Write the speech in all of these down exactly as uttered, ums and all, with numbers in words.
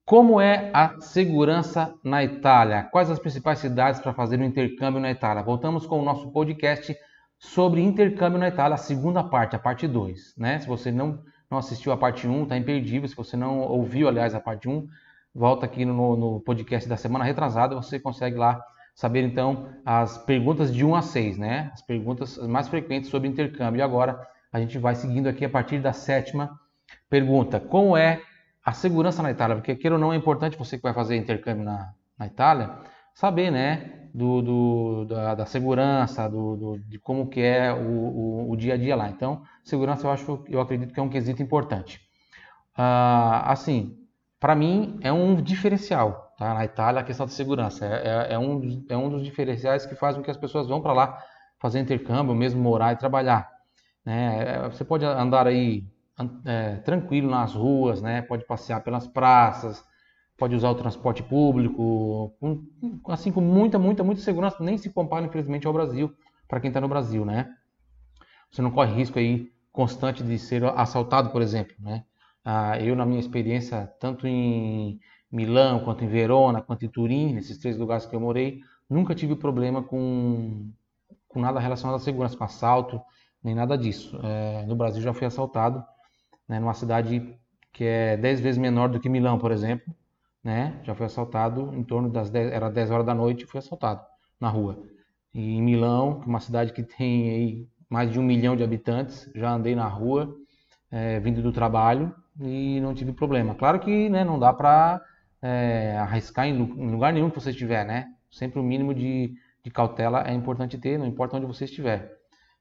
Como é a segurança na Itália? Quais as principais cidades para fazer o intercâmbio na Itália? Voltamos com o nosso podcast sobre intercâmbio na Itália, a segunda parte, a parte dois, né? Se você não, não assistiu a parte um, está imperdível. Se você não ouviu, aliás, a parte um, volta aqui no, no podcast da semana retrasada, você consegue lá saber, então, as perguntas de um a seis, né? As perguntas mais frequentes sobre intercâmbio. E agora a gente vai seguindo aqui a partir da sétima pergunta. Como é a segurança na Itália? Porque, queira ou não, é importante você que vai fazer intercâmbio na, na Itália saber, né, do, do, da, da segurança, do, do, de como que é o, o, o dia a dia lá. Então, segurança eu acho, eu acredito que é um quesito importante. Ah, assim, para mim é um diferencial, tá? Na Itália a questão da segurança é, é, é, um, dos- é um dos diferenciais que faz com que as pessoas vão para lá fazer intercâmbio, mesmo morar e trabalhar, né? É, Você pode andar aí an- é, tranquilo nas ruas, né? Pode passear pelas praças, pode usar o transporte público, com- com- assim com muita, muita, muita segurança. Nem se compara, infelizmente, ao Brasil, para quem está no Brasil, né? Você não corre risco aí constante de ser assaltado, por exemplo, né? Ah, eu, na minha experiência, tanto em Milão, quanto em Verona, quanto em Turim, nesses três lugares que eu morei, nunca tive problema com, com nada relacionado à segurança, com assalto, nem nada disso. É, no Brasil já fui assaltado, né, numa cidade que é dez vezes menor do que Milão, por exemplo, né? Já fui assaltado em torno das dez, era dez horas da noite, fui assaltado na rua. E em Milão, que é uma cidade que tem aí mais de um milhão de habitantes, já andei na rua, é, vindo do trabalho e não tive problema. Claro que, né, não dá para é, arriscar em, lu- em lugar nenhum que você estiver, né? Sempre o mínimo de, de cautela é importante ter, não importa onde você estiver.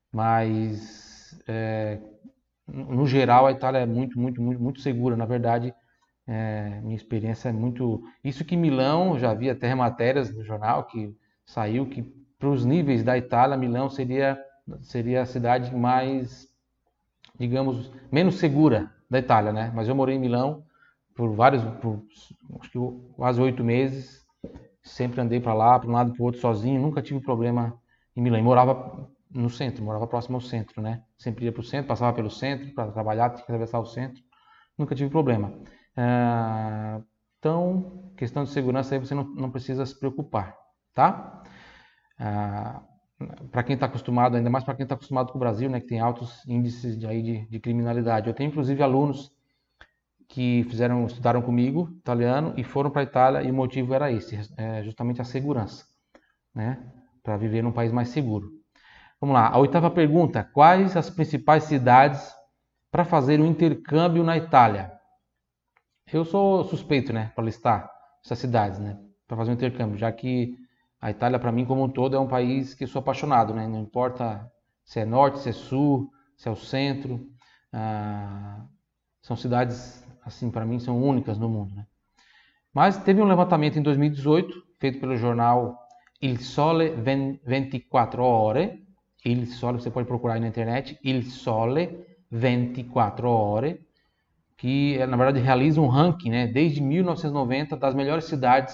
Mas é, no geral, a Itália é muito, muito, muito, muito segura. Na verdade, é, minha experiência é muito. Isso que Milão, eu já vi até matérias no jornal que saiu que para os níveis da Itália, Milão seria, seria a cidade mais, digamos, menos segura da Itália, né? Mas eu morei em Milão por vários, por, acho que quase oito meses. Sempre andei para lá, para um lado e para o outro sozinho, nunca tive problema em Milão. E morava no centro, morava próximo ao centro, né? Sempre ia para o centro, passava pelo centro para trabalhar, tinha que atravessar o centro, nunca tive problema. Ah, então, questão de segurança aí você não, não precisa se preocupar, tá? Ah, para quem está acostumado, ainda mais para quem está acostumado com o Brasil, né, que tem altos índices de, aí de, de criminalidade. Eu tenho inclusive alunos que fizeram, estudaram comigo italiano e foram para a Itália e o motivo era esse, é justamente a segurança, né? Para viver num país mais seguro. Vamos lá, a oitava pergunta: quais as principais cidades para fazer um intercâmbio na Itália? Eu sou suspeito, né, para listar essas cidades, né, para fazer um intercâmbio, já que a Itália, para mim, como um todo, é um país que eu sou apaixonado, né? Não importa se é norte, se é sul, se é o centro, ah, são cidades, assim, para mim, são únicas no mundo, né? Mas teve um levantamento em dois mil e dezoito, feito pelo jornal Il Sole vinte e quattro Ore. Il Sole, você pode procurar aí na internet, Il Sole vinte e quattro Ore, que na verdade realiza um ranking, né, desde mil novecentos e noventa das melhores cidades,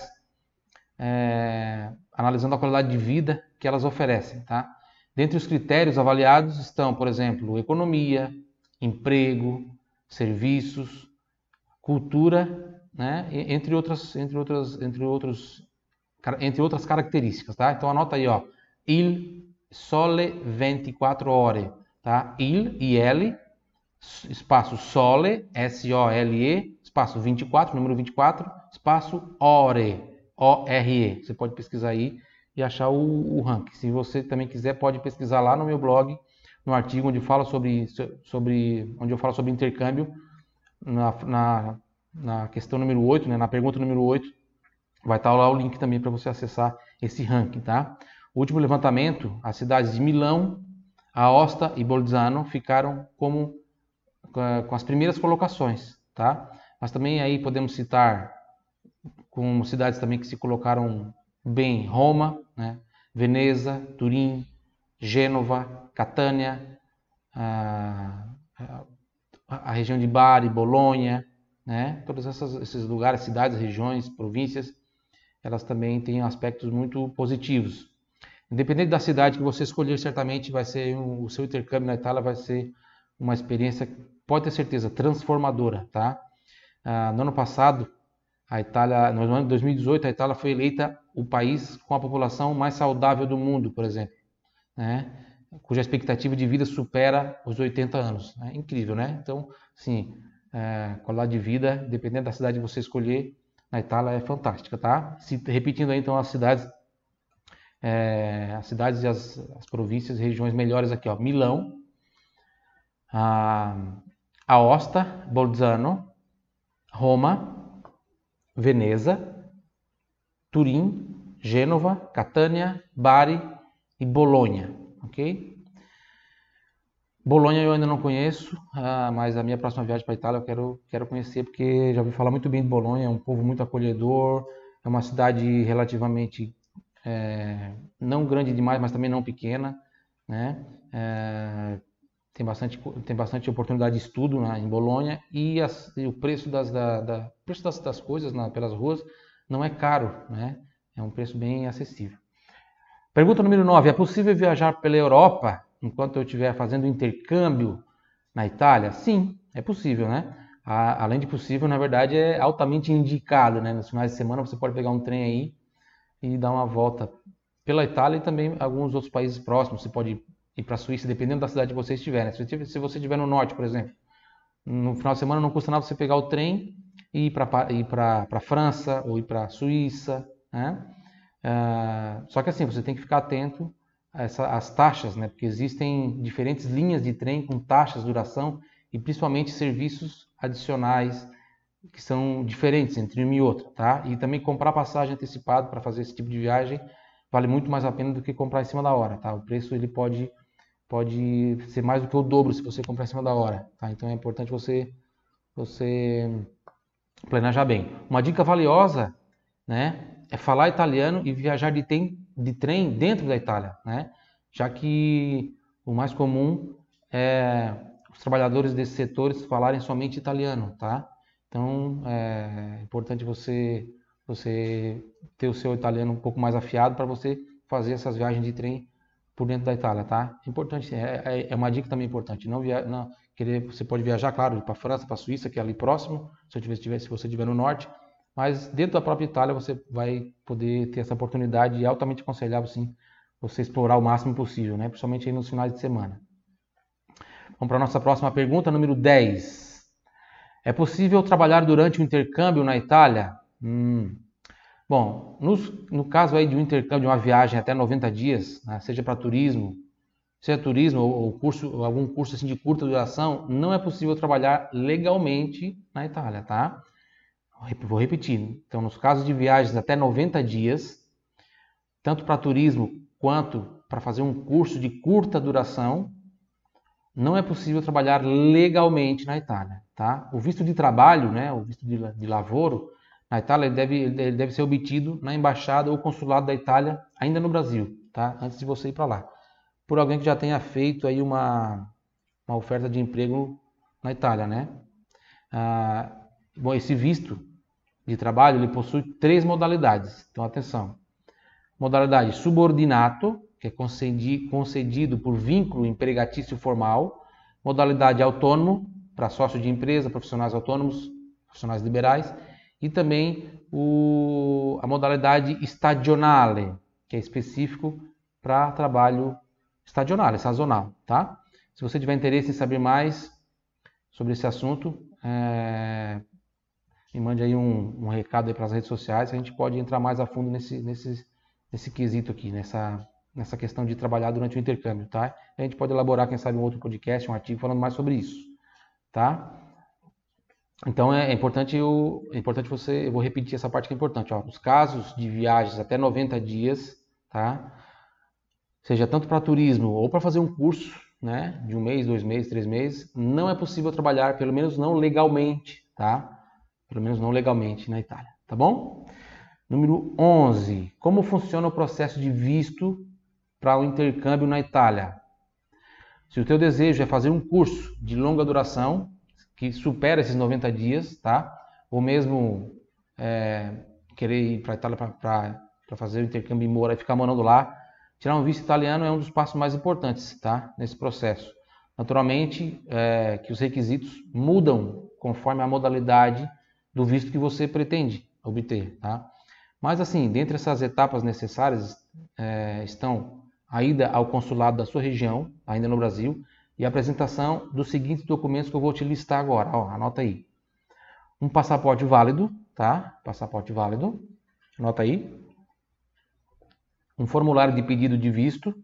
é, analisando a qualidade de vida que elas oferecem, tá? Dentre os critérios avaliados estão, por exemplo, economia, emprego, serviços, cultura, né? Entre outras, entre outras, entre outros, entre outras características, tá? Então anota aí, ó, Il Sole vinte e quattro Ore, tá? Il, I L, espaço Sole, S O L E, espaço vinte e quatro, número vinte e quatro, espaço Ore, O R E. Você pode pesquisar aí e achar o, o ranking. Se você também quiser, pode pesquisar lá no meu blog, no artigo onde fala sobre, sobre onde eu falo sobre intercâmbio, na, na, na questão número oito, né, na pergunta número oito, vai estar lá o link também para você acessar esse ranking, tá? O último levantamento, as cidades de Milão, Aosta e Bolzano ficaram como com as primeiras colocações, tá? Mas também aí podemos citar como cidades também que se colocaram bem: Roma, né? Veneza, Turim, Gênova, Catânia, a, a, a região de Bari, Bolonha, né? Todos essas, esses lugares, cidades, regiões, províncias, elas também têm aspectos muito positivos. Independente da cidade que você escolher, certamente vai ser um, o seu intercâmbio na Itália vai ser uma experiência, pode ter certeza, transformadora, tá? Ah, no ano passado, A Itália, no ano de dois mil e dezoito, a Itália foi eleita o país com a população mais saudável do mundo, por exemplo, né? Cuja expectativa de vida supera os oitenta anos. É incrível, né? Então, sim, é, qualidade de vida, dependendo da cidade que você escolher, na Itália é fantástica, tá? Se, repetindo aí, então, as cidades, é, as cidades e as, as províncias e regiões melhores aqui, ó. Milão, a, Aosta, Bolzano, Roma, Veneza, Turim, Gênova, Catânia, Bari e Bolonha, ok? Bolonha eu ainda não conheço, ah, mas a minha próxima viagem para a Itália eu quero, quero conhecer, porque já ouvi falar muito bem de Bolonha, é um povo muito acolhedor, é uma cidade relativamente é, não grande demais, mas também não pequena, né? É, tem bastante, tem bastante oportunidade de estudo, né, em Bolonha, e, as, e o preço das, da, da, preço das, das coisas na, pelas ruas não é caro, né? É um preço bem acessível. Pergunta número nove. É possível viajar pela Europa enquanto eu estiver fazendo intercâmbio na Itália? Sim, é possível, né? A, além de possível, na verdade, é altamente indicado, né? Nos finais de semana você pode pegar um trem aí e dar uma volta pela Itália e também alguns outros países próximos. Você pode ir para a Suíça, dependendo da cidade que você estiver, né? Se você estiver no norte, por exemplo, no final de semana não custa nada você pegar o trem e ir para ir para a França ou ir para a Suíça, né? Uh, só que assim, você tem que ficar atento às taxas, né? Porque existem diferentes linhas de trem com taxas, duração e principalmente serviços adicionais que são diferentes entre uma e outra, tá? E também comprar passagem antecipado para fazer esse tipo de viagem vale muito mais a pena do que comprar em cima da hora, tá? O preço ele pode, pode ser mais do que o dobro se você comprar em cima da hora, tá? Então é importante você, você planejar bem. Uma dica valiosa, né? É falar italiano e viajar de, tem, de trem dentro da Itália, né? Já que o mais comum é os trabalhadores desses setores falarem somente italiano, tá? Então é importante você, você ter o seu italiano um pouco mais afiado para você fazer essas viagens de trem por dentro da Itália, tá? É importante, é, é uma dica também importante. Não, via, não querer, você pode viajar, claro, para a França, para a Suíça, que é ali próximo, se, eu tiver, se você estiver no norte. Mas dentro da própria Itália você vai poder ter essa oportunidade e é altamente aconselhável, sim, você explorar o máximo possível, né? Principalmente aí nos finais de semana. Vamos para a nossa próxima pergunta, número dez. É possível trabalhar durante o intercâmbio na Itália? Hum. Bom, no, no caso aí de um intercâmbio, de uma viagem até noventa dias, né, seja para turismo, seja turismo ou, curso, ou algum curso assim de curta duração, não é possível trabalhar legalmente na Itália, tá? Vou repetir. Então, nos casos de viagens até noventa dias, tanto para turismo quanto para fazer um curso de curta duração, não é possível trabalhar legalmente na Itália, tá? O visto de trabalho, né, o visto de, de lavoro, na Itália ele deve, ele deve ser obtido na embaixada ou consulado da Itália, ainda no Brasil, tá? Antes de você ir para lá. Por alguém que já tenha feito aí uma, uma oferta de emprego na Itália, né? Ah, bom, esse visto de trabalho, ele possui três modalidades. Então, atenção. Modalidade subordinato, que é concedido por vínculo empregatício formal. Modalidade autônomo, para sócio de empresa, profissionais autônomos, profissionais liberais. E também o, a modalidade stagionale, que é específico para trabalho estagional, sazonal, tá? Se você tiver interesse em saber mais sobre esse assunto, é... me mande aí um, um recado aí para as redes sociais, que a gente pode entrar mais a fundo nesse, nesse, nesse quesito aqui, nessa, nessa questão de trabalhar durante o intercâmbio, tá? A gente pode elaborar, quem sabe, um outro podcast, um artigo falando mais sobre isso, tá? Então é, é importante, eu, é importante você, eu vou repetir essa parte que é importante, ó, os casos de viagens até noventa dias, tá? Seja tanto para turismo ou para fazer um curso, né, de um mês, dois meses, três meses, não é possível trabalhar, pelo menos não legalmente, tá? Pelo menos não legalmente na Itália, tá bom? Número onze. Como funciona o processo de visto para o intercâmbio na Itália? Se o teu desejo é fazer um curso de longa duração, que supera esses noventa dias, tá? Ou mesmo é, querer ir para a Itália para fazer o intercâmbio e morar e ficar morando lá, tirar um visto italiano é um dos passos mais importantes, tá? Nesse processo. Naturalmente, é, que os requisitos mudam conforme a modalidade do visto que você pretende, obter, tá? Mas assim, dentre essas etapas necessárias é, estão a ida ao consulado da sua região, ainda no Brasil, e a apresentação dos seguintes documentos que eu vou te listar agora. Ó, anota aí. Um passaporte válido, tá? Passaporte válido. Anota aí. Um formulário de pedido de visto.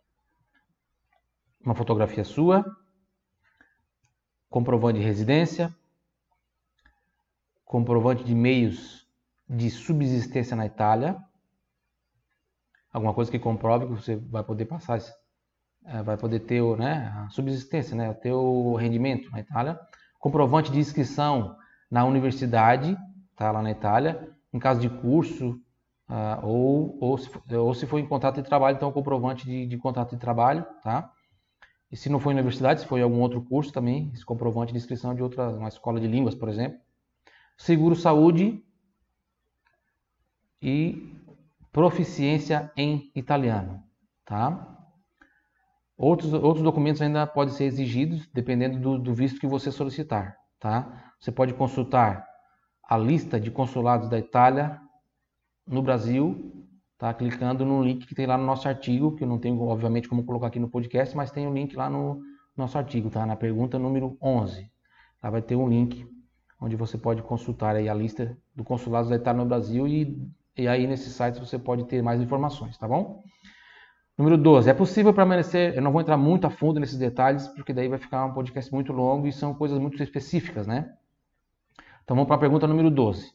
Uma fotografia sua. Comprovante de residência. Comprovante de meios de subsistência na Itália. Alguma coisa que comprove que você vai poder passar, vai poder ter, né, a subsistência, né, ter o rendimento na Itália. Comprovante de inscrição na universidade, tá, lá na Itália, em caso de curso, uh, ou, ou, se, ou se for em contrato de trabalho, então comprovante de, de contrato de trabalho, tá? E se não for em universidade, se for em algum outro curso também, esse comprovante de inscrição de outra, uma escola de línguas, por exemplo. Seguro saúde e proficiência em italiano, tá? Outros, outros documentos ainda podem ser exigidos, dependendo do, do visto que você solicitar, tá? Você pode consultar a lista de consulados da Itália no Brasil, tá? Clicando no link que tem lá no nosso artigo, que eu não tenho, obviamente, como colocar aqui no podcast, mas tem o um link lá no nosso artigo, tá? Na pergunta número onze. Lá vai ter um link onde você pode consultar aí a lista do consulados da Itália no Brasil e, e aí nesse site você pode ter mais informações, tá bom? Número doze. É possível permanecer... Eu não vou entrar muito a fundo nesses detalhes, porque daí vai ficar um podcast muito longo e são coisas muito específicas, né? Então vamos para a pergunta número doze.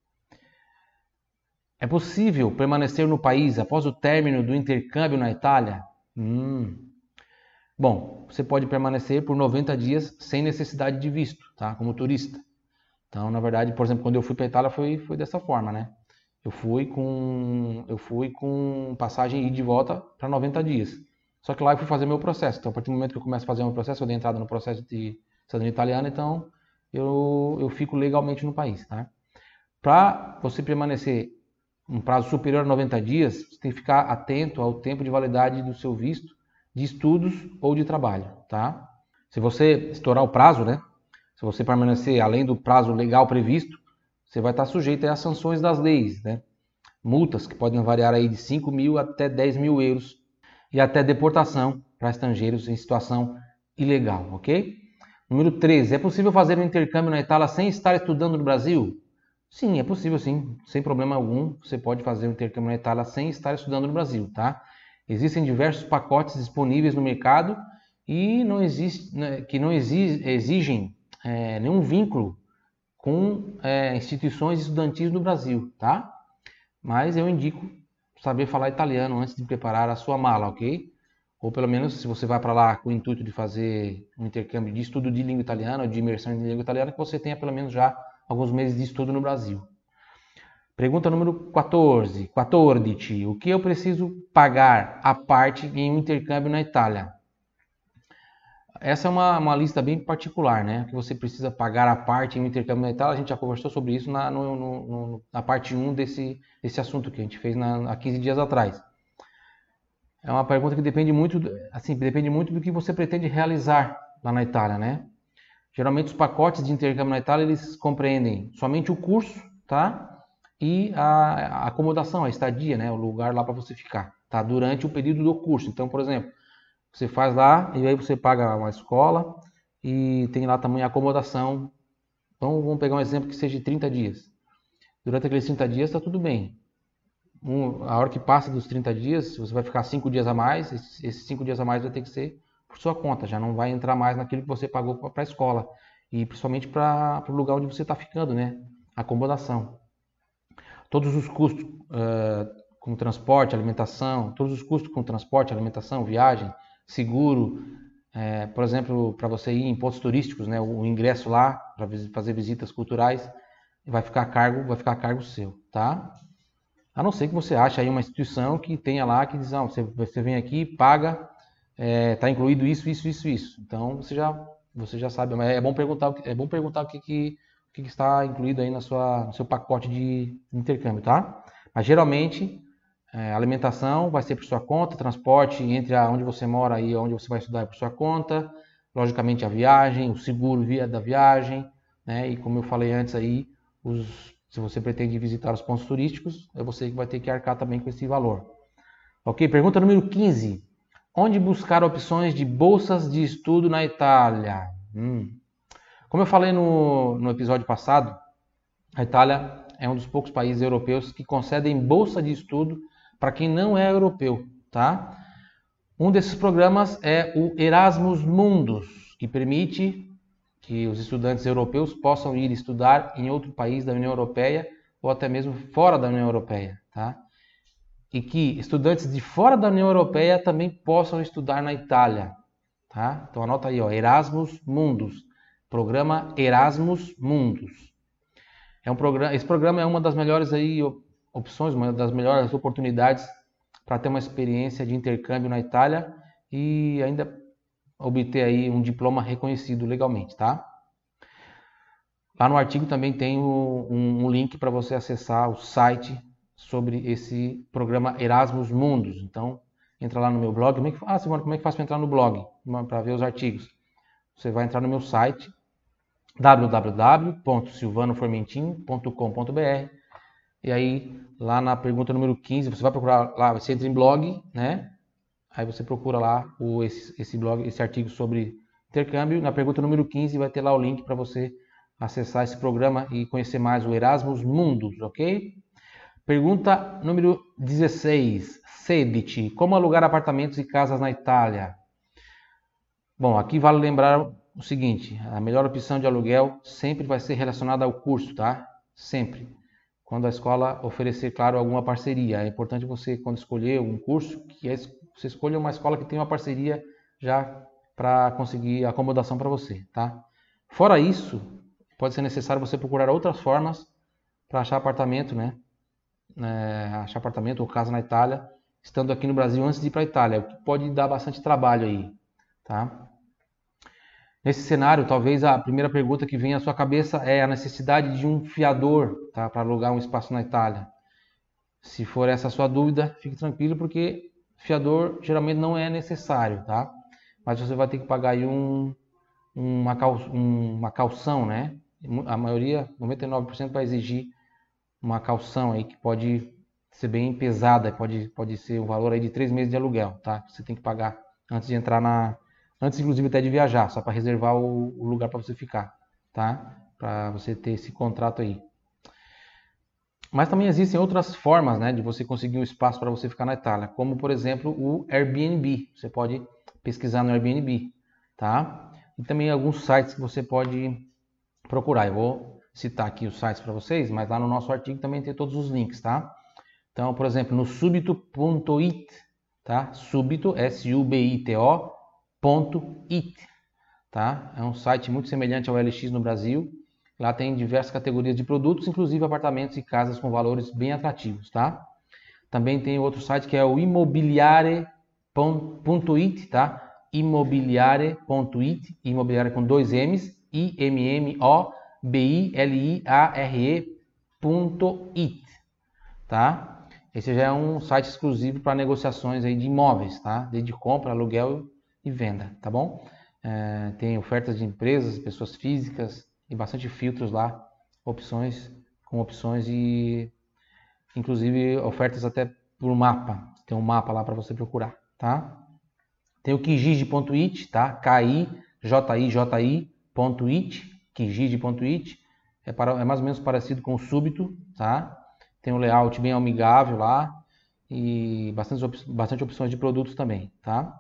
É possível permanecer no país após o término do intercâmbio na Itália? Hum. Bom, você pode permanecer por noventa dias sem necessidade de visto, tá? Como turista. Então, na verdade, por exemplo, quando eu fui para a Itália foi, foi dessa forma, né? Eu fui com eu fui com passagem ida e de volta para noventa dias. Só que lá eu fui fazer meu processo. Então, a partir do momento que eu começo a fazer meu processo, eu dei entrada no processo de cidadania italiana, então eu, eu fico legalmente no país, tá? Para você permanecer um prazo superior a noventa dias, você tem que ficar atento ao tempo de validade do seu visto de estudos ou de trabalho, tá? Se você estourar o prazo, né? Se você permanecer além do prazo legal previsto, você vai estar sujeito às sanções das leis, né? Multas que podem variar aí de cinco mil até dez mil euros e até deportação para estrangeiros em situação ilegal, ok? Número treze. É possível fazer um intercâmbio na Itália sem estar estudando no Brasil? Sim, é possível sim, sem problema algum. Você pode fazer um intercâmbio na Itália sem estar estudando no Brasil, tá? Existem diversos pacotes disponíveis no mercado e não existe, né, que não exigem é, nenhum vínculo com é, instituições estudantis no Brasil, tá? Mas eu indico saber falar italiano antes de preparar a sua mala, ok? Ou pelo menos se você vai para lá com o intuito de fazer um intercâmbio de estudo de língua italiana ou de imersão em língua italiana, que você tenha pelo menos já alguns meses de estudo no Brasil. Pergunta número quatorze. quatorze. O que eu preciso pagar à parte em um intercâmbio na Itália? Essa é uma, uma lista bem particular, né? Que você precisa pagar à parte em um intercâmbio na Itália. A gente já conversou sobre isso na, no, no, na parte um desse, desse assunto que a gente fez na, há quinze dias atrás. É uma pergunta que depende muito, assim, depende muito do que você pretende realizar lá na Itália, né? Geralmente os pacotes de intercâmbio na Itália, eles compreendem somente o curso, tá? E a, a acomodação, a estadia, né? O lugar lá para você ficar, tá? Durante o período do curso. Então, por exemplo, você faz lá e aí você paga uma escola e tem lá também a acomodação. Então, vamos pegar um exemplo que seja de trinta dias. Durante aqueles trinta dias está tudo bem. Um, a hora que passa dos trinta dias, você vai ficar cinco dias a mais. Esses cinco dias a mais vai ter que ser por sua conta. Já não vai entrar mais naquilo que você pagou para a escola. E principalmente para o lugar onde você está ficando, né? Acomodação. Todos os custos uh, com transporte, alimentação, todos os custos com transporte, alimentação, viagem, seguro, é, por exemplo, para você ir em pontos turísticos, né, o ingresso lá para fazer visitas culturais vai ficar a cargo, vai ficar a cargo seu, tá? A não ser que você ache aí uma instituição que tenha lá que diz, não, você, você vem aqui, paga, está é, incluído isso, isso, isso, isso. Então você já, você já sabe, mas é bom perguntar, é bom perguntar o que, que, o que está incluído aí na sua, no seu pacote de intercâmbio, tá? Mas geralmente É, alimentação vai ser por sua conta, transporte entre onde você mora e onde você vai estudar é por sua conta, logicamente a viagem, o seguro via da viagem, né? E como eu falei antes aí, os Se você pretende visitar os pontos turísticos, é você que vai ter que arcar também com esse valor. Ok? Pergunta número quinze. Onde buscar opções de bolsas de estudo na Itália? Hum. Como eu falei no, no episódio passado, a Itália é um dos poucos países europeus que concedem bolsa de estudo para quem não é europeu, tá? Um desses programas é o Erasmus Mundus, que permite que os estudantes europeus possam ir estudar em outro país da União Europeia ou até mesmo fora da União Europeia, tá? E que estudantes de fora da União Europeia também possam estudar na Itália, tá? Então anota aí, ó, Erasmus Mundus, programa Erasmus Mundus. É um programa, esse programa é uma das melhores aí opções, uma das melhores oportunidades para ter uma experiência de intercâmbio na Itália e ainda obter aí um diploma reconhecido legalmente, tá? Lá no artigo também tem o, um, um link para você acessar o site sobre esse programa Erasmus Mundus. Então, entra lá no meu blog. Como é que, ah, Simone, como é que faz para entrar no blog? Para ver os artigos. Você vai entrar no meu site, w w w ponto silvano formentin ponto com ponto b r, e aí lá na pergunta número quinze, você vai procurar lá, você entra em blog, né? Aí você procura lá o, esse, esse blog, esse artigo sobre intercâmbio. Na pergunta número quinze vai ter lá o link para você acessar esse programa e conhecer mais o Erasmus Mundus, ok? Pergunta número dezesseis, sedici, como alugar apartamentos e casas na Itália? Bom, aqui vale lembrar o seguinte, a melhor opção de aluguel sempre vai ser relacionada ao curso, tá? Sempre. Quando a escola oferecer, claro, alguma parceria. É importante você, quando escolher um curso, que você escolha uma escola que tenha uma parceria já para conseguir acomodação para você, tá? Fora isso, pode ser necessário você procurar outras formas para achar apartamento, né? É, achar apartamento ou casa na Itália, estando aqui no Brasil antes de ir para a Itália, o que pode dar bastante trabalho aí, tá? Nesse cenário, talvez a primeira pergunta que vem à sua cabeça é a necessidade de um fiador, tá, para alugar um espaço na Itália. Se for essa a sua dúvida, fique tranquilo, porque fiador geralmente não é necessário, tá? Mas você vai ter que pagar aí um, uma, cal, uma calção, né? A maioria, noventa e nove por cento, vai exigir uma calção aí que pode ser bem pesada, pode, pode ser um valor aí de três meses de aluguel, tá? Você tem que pagar antes de entrar na... Antes, inclusive, até de viajar, só para reservar o, o lugar para você ficar, tá? Para você ter esse contrato aí. Mas também existem outras formas, né, de você conseguir um espaço para você ficar na Itália, como, por exemplo, o Airbnb. Você pode pesquisar no Airbnb, tá? E também alguns sites que você pode procurar. Eu vou citar aqui os sites para vocês, mas lá no nosso artigo também tem todos os links, tá? Então, por exemplo, no subito ponto it, tá? Subito, S U B I T O, .it, tá? É um site muito semelhante ao L X no Brasil. Lá tem diversas categorias de produtos, inclusive apartamentos e casas com valores bem atrativos, tá? Também tem outro site que é o imobiliare ponto it, tá? imobiliare ponto it, imobiliare com dois M's, I M M O B I L I A R E ponto it, tá? Esse já é um site exclusivo para negociações aí de imóveis, tá? Desde compra, aluguel e venda, tá bom? É, tem ofertas de empresas, pessoas físicas e bastante filtros lá, opções com opções e inclusive ofertas até por mapa. Tem um mapa lá para você procurar, tá? Tem o kijiji ponto it, tá? K I J I J I ponto it, kijiji ponto it. É, para, é mais ou menos parecido com o Subito, tá? Tem um layout bem amigável lá e bastante, op bastante opções de produtos também, tá?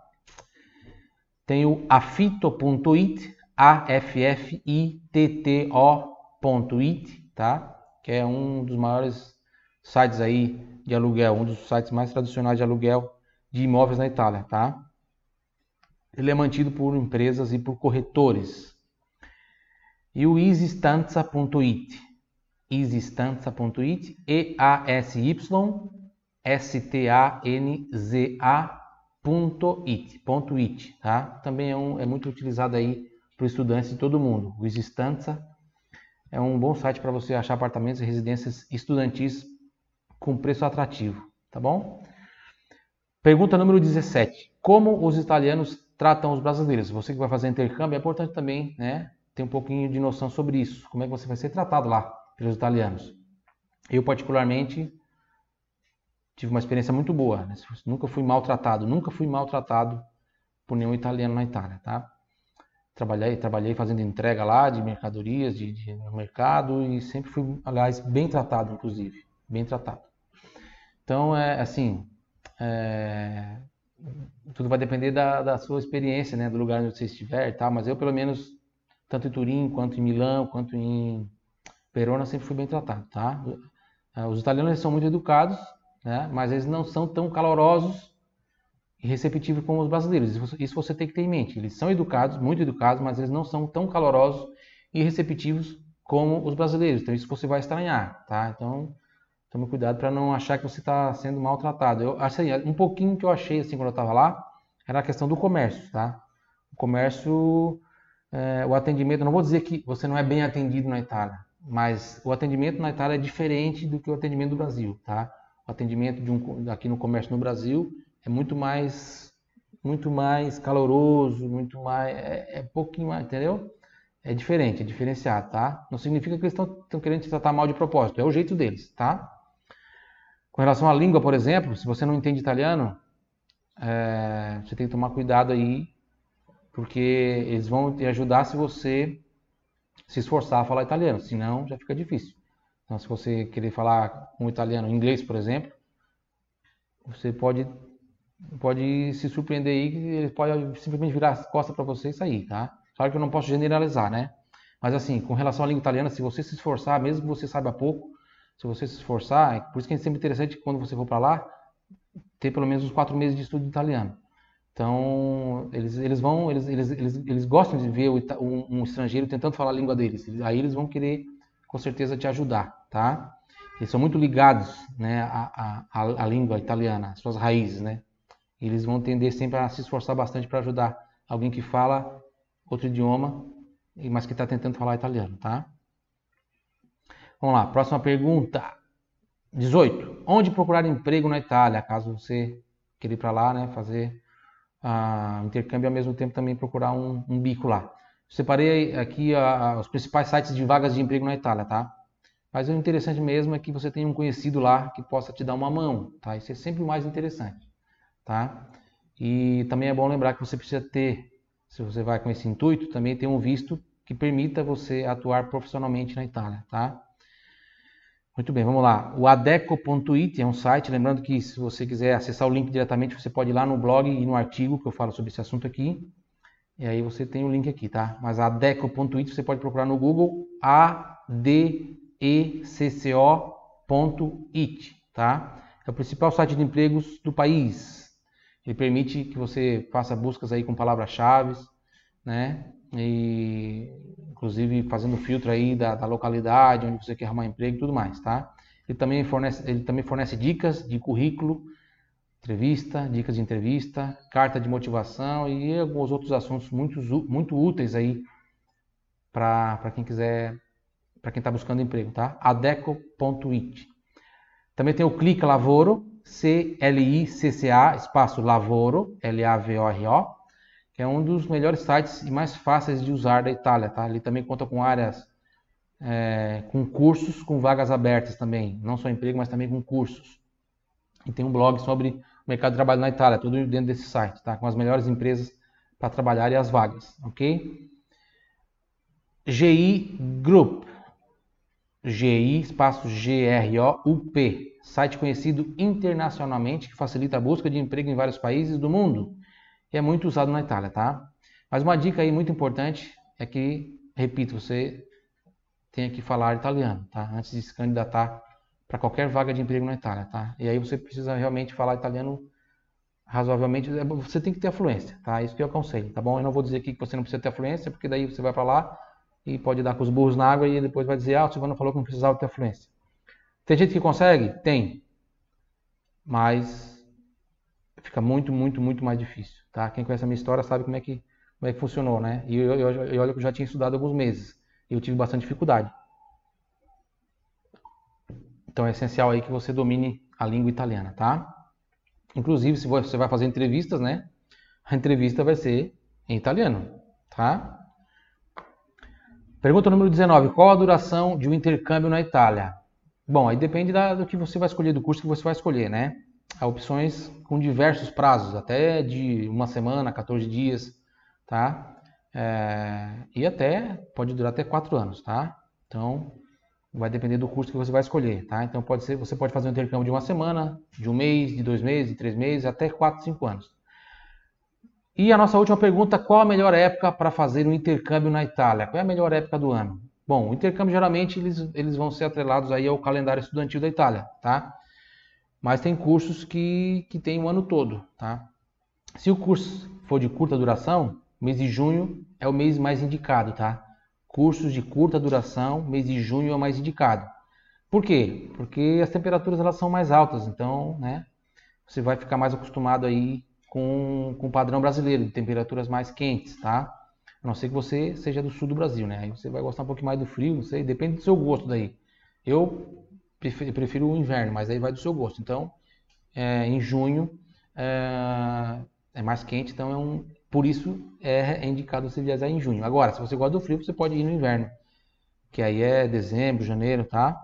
Tem o affitto ponto it, A F F I T T O ponto it, tá? Que é um dos maiores sites aí de aluguel, um dos sites mais tradicionais de aluguel de imóveis na Itália, tá? Ele é mantido por empresas e por corretores. E o easystanza ponto it, easystanza ponto it, E A S Y S T A N Z A ponto it, ponto it, tá? Também é, um, é muito utilizado aí para estudantes de todo mundo. O easystanza é um bom site para você achar apartamentos e residências estudantis com preço atrativo, tá bom? Pergunta número dezessete. Como os italianos tratam os brasileiros? Você que vai fazer intercâmbio, é importante também, né, ter um pouquinho de noção sobre isso. Como é que você vai ser tratado lá pelos italianos? Eu, particularmente, tive uma experiência muito boa, né? Nunca fui maltratado, nunca fui maltratado por nenhum italiano na Itália, tá? Trabalhei, trabalhei fazendo entrega lá de mercadorias, de, de no mercado e sempre fui, aliás, bem tratado, inclusive, bem tratado. Então, é assim, é, tudo vai depender da, da sua experiência, né, do lugar onde você estiver e tal, mas eu, pelo menos, tanto em Turim, quanto em Milão, quanto em Verona, sempre fui bem tratado, tá? Os italianos eles são muito educados, né, mas eles não são tão calorosos e receptivos como os brasileiros. Isso, isso você tem que ter em mente. Eles são educados, muito educados, mas eles não são tão calorosos e receptivos como os brasileiros. Então, isso você vai estranhar, tá? Então, tome cuidado para não achar que você está sendo maltratado. Eu, assim, um pouquinho que eu achei assim quando eu estava lá era a questão do comércio, tá? O comércio, é, o atendimento, eu não vou dizer que você não é bem atendido na Itália, mas o atendimento na Itália é diferente do que o atendimento do Brasil, tá? O atendimento de um, aqui no comércio no Brasil é muito mais, muito mais caloroso, muito mais, é, é pouquinho mais, entendeu? É diferente, é diferenciado, tá? Não significa que eles estão querendo te tratar mal de propósito, é o jeito deles, tá? Com relação à língua, por exemplo, se você não entende italiano, é, você tem que tomar cuidado aí, porque eles vão te ajudar se você se esforçar a falar italiano, senão já fica difícil. Então, se você querer falar um italiano, inglês, por exemplo, você pode, pode se surpreender aí que ele pode simplesmente virar as costas para você e sair, tá? Claro que eu não posso generalizar, né? Mas assim, com relação à língua italiana, se você se esforçar, mesmo que você saiba pouco, se você se esforçar, é por isso que é sempre interessante quando você for para lá, ter pelo menos uns quatro meses de estudo de italiano. Então, eles, eles vão, eles, eles, eles, eles gostam de ver um, um estrangeiro tentando falar a língua deles. Aí eles vão querer, com certeza, te ajudar, tá? Eles são muito ligados, né, à, à, à língua italiana, às suas raízes, né? Eles vão tender sempre a se esforçar bastante para ajudar alguém que fala outro idioma, mas que está tentando falar italiano, tá? Vamos lá, próxima pergunta. dezoito. Onde procurar emprego na Itália? Caso você queira ir para lá, né, fazer uh, intercâmbio e ao mesmo tempo também procurar um, um bico lá. Separei aqui uh, os principais sites de vagas de emprego na Itália, tá? Mas o interessante mesmo é que você tenha um conhecido lá que possa te dar uma mão, tá? Isso é sempre o mais interessante, tá? E também é bom lembrar que você precisa ter, se você vai com esse intuito, também ter um visto que permita você atuar profissionalmente na Itália, tá? Muito bem, vamos lá. O adeco ponto it é um site, lembrando que se você quiser acessar o link diretamente, você pode ir lá no blog e no artigo que eu falo sobre esse assunto aqui. E aí você tem o link aqui, tá? Mas adeco ponto it você pode procurar no Google, A D E C C O ponto it, tá? É o principal site de empregos do país. Ele permite que você faça buscas aí com palavras-chave, né? E inclusive fazendo filtro aí da, da localidade onde você quer arrumar emprego e tudo mais, tá? Ele também fornece, ele também fornece dicas de currículo, entrevista, dicas de entrevista, carta de motivação e alguns outros assuntos muito, muito úteis aí para quem quiser, para quem está buscando emprego, tá? adeco ponto it. Também tem o Clica Lavoro, C L I C C A, espaço Lavoro, L A V O R O, que é um dos melhores sites e mais fáceis de usar da Itália, tá? Ele também conta com áreas, é, com cursos, com vagas abertas também, não só emprego, mas também com cursos. E tem um blog sobre o mercado de trabalho na Itália, tudo dentro desse site, tá? Com as melhores empresas para trabalhar e as vagas, ok? G I Group, G I, espaço G R O U P, site conhecido internacionalmente que facilita a busca de emprego em vários países do mundo. E é muito usado na Itália, tá? Mas uma dica aí muito importante é que, repito, você tenha que falar italiano, tá? Antes de se candidatar para qualquer vaga de emprego na Itália, tá? E aí você precisa realmente falar italiano razoavelmente, você tem que ter a fluência, tá? Isso que eu aconselho, tá bom? Eu não vou dizer aqui que você não precisa ter a fluência, porque daí você vai para lá e pode dar com os burros na água e depois vai dizer, ah, o Silvano falou que não precisava ter a fluência. Tem gente que consegue? Tem. Mas fica muito, muito, muito mais difícil, tá? Quem conhece a minha história sabe como é que, como é que funcionou, né? E eu, eu, eu, olha que eu já tinha estudado alguns meses e eu tive bastante dificuldade. Então é essencial aí que você domine a língua italiana, tá? Inclusive, se você vai fazer entrevistas, né? A entrevista vai ser em italiano, tá? Pergunta número dezenove. Qual a duração de um intercâmbio na Itália? Bom, aí depende da- do que você vai escolher, do curso que você vai escolher, né? Há opções com diversos prazos, até de uma semana, quatorze dias, tá? É, e até, pode durar até quatro anos, tá? Então, vai depender do curso que você vai escolher, tá? Então, pode ser, você pode fazer um intercâmbio de uma semana, de um mês, de dois meses, de três meses, até quatro, cinco anos. E a nossa última pergunta, qual a melhor época para fazer um intercâmbio na Itália? Qual é a melhor época do ano? Bom, o intercâmbio geralmente eles, eles vão ser atrelados aí ao calendário estudantil da Itália, tá? Mas tem cursos que, que tem o ano todo, tá? Se o curso for de curta duração, mês de junho é o mês mais indicado, tá? Cursos de curta duração, mês de junho é o mais indicado. Por quê? Porque as temperaturas elas são mais altas, então, né, você vai ficar mais acostumado aí com, com o padrão brasileiro, de temperaturas mais quentes, tá? A não ser que você seja do sul do Brasil, né? Aí você vai gostar um pouquinho mais do frio, não sei, depende do seu gosto daí. Eu prefiro, prefiro o inverno, mas aí vai do seu gosto. Então, é, em junho é, é mais quente, então é um, por isso é, é indicado você viajar em junho. Agora, se você gosta do frio, você pode ir no inverno, que aí é dezembro, janeiro, tá?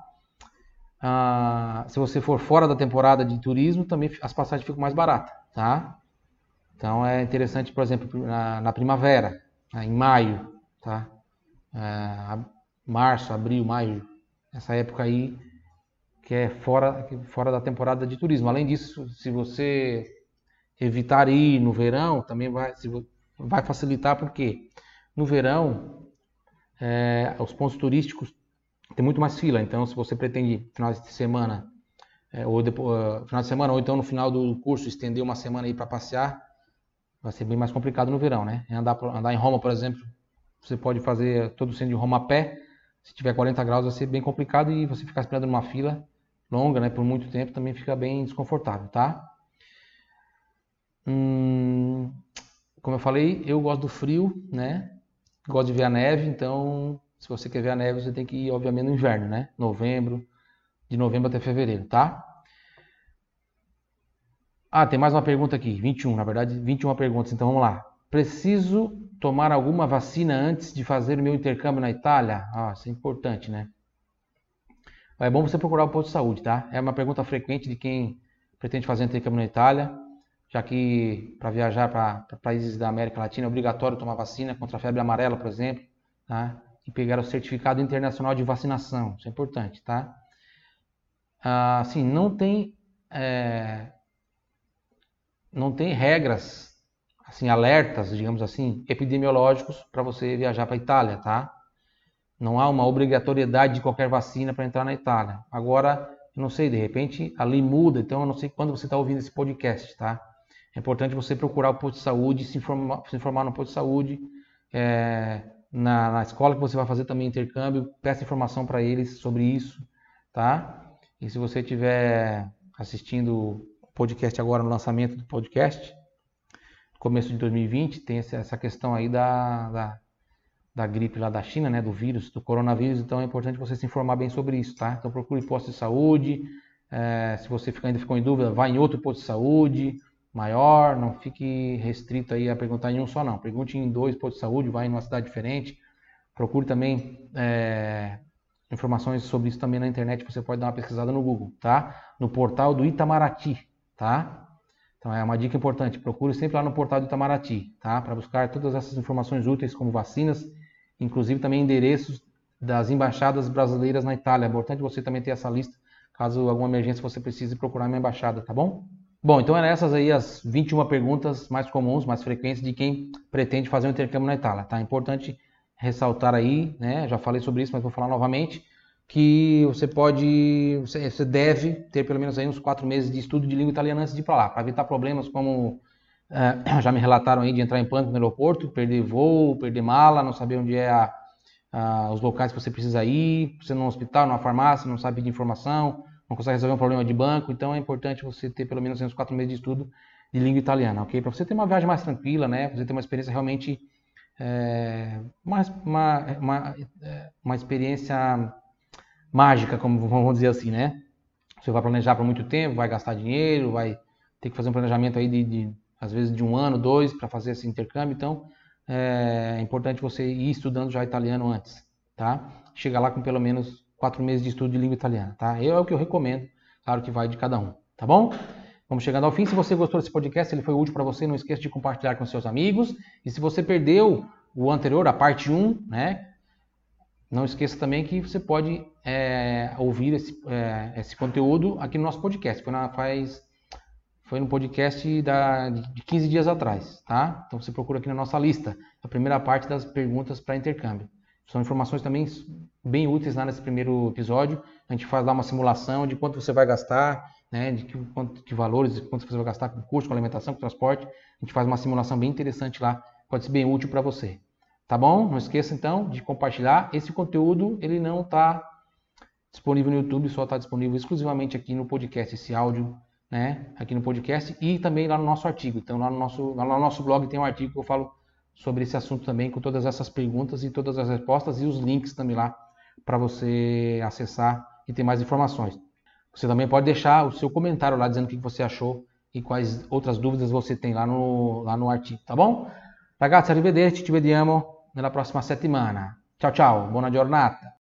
Ah, se você for fora da temporada de turismo, também as passagens ficam mais baratas, tá? Então é interessante, por exemplo, na, na primavera, né, em maio, tá? É, março, abril, maio, essa época aí que é fora, fora da temporada de turismo. Além disso, se você evitar ir no verão, também vai, vai facilitar, porque no verão é, os pontos turísticos tem muito mais fila. Então, se você pretende final de semana, é, ou depois, uh, final de semana, ou então no final do curso estender uma semana aí para passear, vai ser bem mais complicado no verão, né? Andar, andar em Roma, por exemplo, você pode fazer todo o centro de Roma a pé. Se tiver quarenta graus, vai ser bem complicado e você ficar esperando numa fila longa, né, por muito tempo, também fica bem desconfortável, tá? Hum, como eu falei, eu gosto do frio, né? Gosto de ver a neve, então se você quer ver a neve, você tem que ir, obviamente, no inverno, né? Novembro, de novembro até fevereiro, tá? Ah, tem mais uma pergunta aqui, vinte e um, na verdade, vinte e uma perguntas, então vamos lá. Preciso tomar alguma vacina antes de fazer o meu intercâmbio na Itália? Ah, isso é importante, né? É bom você procurar o posto de saúde, tá? É uma pergunta frequente de quem pretende fazer um intercâmbio na Itália, já que para viajar para países da América Latina é obrigatório tomar vacina contra a febre amarela, por exemplo, tá? E pegar o certificado internacional de vacinação, isso é importante, tá? Ah, assim, não tem, é, não tem regras, assim, alertas, digamos assim, epidemiológicos para você viajar para a Itália, tá? Não há uma obrigatoriedade de qualquer vacina para entrar na Itália. Agora, eu não sei, de repente a lei muda, então eu não sei quando você está ouvindo esse podcast, tá? É importante você procurar o posto de saúde, se informar, se informar no posto de saúde, é, na, na escola que você vai fazer também intercâmbio, peça informação para eles sobre isso, tá? E se você estiver assistindo o podcast agora no lançamento do podcast, começo de dois mil e vinte, tem essa questão aí da, da da gripe lá da China, né, do vírus, do coronavírus, então é importante você se informar bem sobre isso, tá? Então procure posto de saúde, é, se você fica, ainda ficou em dúvida, vá em outro posto de saúde maior, não fique restrito aí a perguntar em um só não, pergunte em dois postos de saúde, vá em uma cidade diferente, procure também é, informações sobre isso também na internet, você pode dar uma pesquisada no Google, tá? No portal do Itamaraty, tá? Então é uma dica importante, procure sempre lá no portal do Itamaraty, tá? Para buscar todas essas informações úteis como vacinas, inclusive também endereços das embaixadas brasileiras na Itália. É importante você também ter essa lista, caso alguma emergência você precise procurar uma embaixada, tá bom? Bom, então eram essas aí as vinte e uma perguntas mais comuns, mais frequentes de quem pretende fazer um intercâmbio na Itália, tá? É importante ressaltar aí, né? Já falei sobre isso, mas vou falar novamente, que você pode, você deve ter pelo menos aí uns quatro meses de estudo de língua italiana antes de ir para lá, para evitar problemas como Uh, já me relataram aí de entrar em pânico no aeroporto, perder voo, perder mala, não saber onde é a, a, os locais que você precisa ir, você no hospital, numa farmácia, não sabe pedir informação, não consegue resolver um problema de banco, então é importante você ter pelo menos uns quatro meses de estudo de língua italiana, ok? Para você ter uma viagem mais tranquila, né? Pra você ter uma experiência realmente, é, uma, uma, uma, uma experiência mágica, como vamos dizer assim, né? Você vai planejar por muito tempo, vai gastar dinheiro, vai ter que fazer um planejamento aí de, de às vezes de um ano, dois, para fazer esse intercâmbio. Então, é importante você ir estudando já italiano antes, tá? Chegar lá com pelo menos quatro meses de estudo de língua italiana, tá? Eu, é o que eu recomendo, claro que vai de cada um, tá bom? Vamos chegando ao fim. Se você gostou desse podcast, ele foi útil para você, não esqueça de compartilhar com seus amigos. E se você perdeu o anterior, a parte um, né? Não esqueça também que você pode é, ouvir esse, é, esse conteúdo aqui no nosso podcast. Foi, na, faz, foi no podcast da, de quinze dias atrás, tá? Então você procura aqui na nossa lista, a primeira parte das perguntas para intercâmbio. São informações também bem úteis lá nesse primeiro episódio. A gente faz lá uma simulação de quanto você vai gastar, né, de que, quanto, que valores, quanto você vai gastar com custo, com alimentação, com transporte. A gente faz uma simulação bem interessante lá, pode ser bem útil para você. Tá bom? Não esqueça então de compartilhar. Esse conteúdo ele não está disponível no YouTube, só está disponível exclusivamente aqui no podcast, esse áudio, né, aqui no podcast e também lá no nosso artigo. Então lá no nosso, lá no nosso blog tem um artigo que eu falo sobre esse assunto também, com todas essas perguntas e todas as respostas e os links também lá para você acessar e ter mais informações. Você também pode deixar o seu comentário lá dizendo o que você achou e quais outras dúvidas você tem lá no, lá no artigo, tá bom? Ragazzi, arrivederci, ci vediamo nella prossima settimana. Ciao ciao, buona giornata!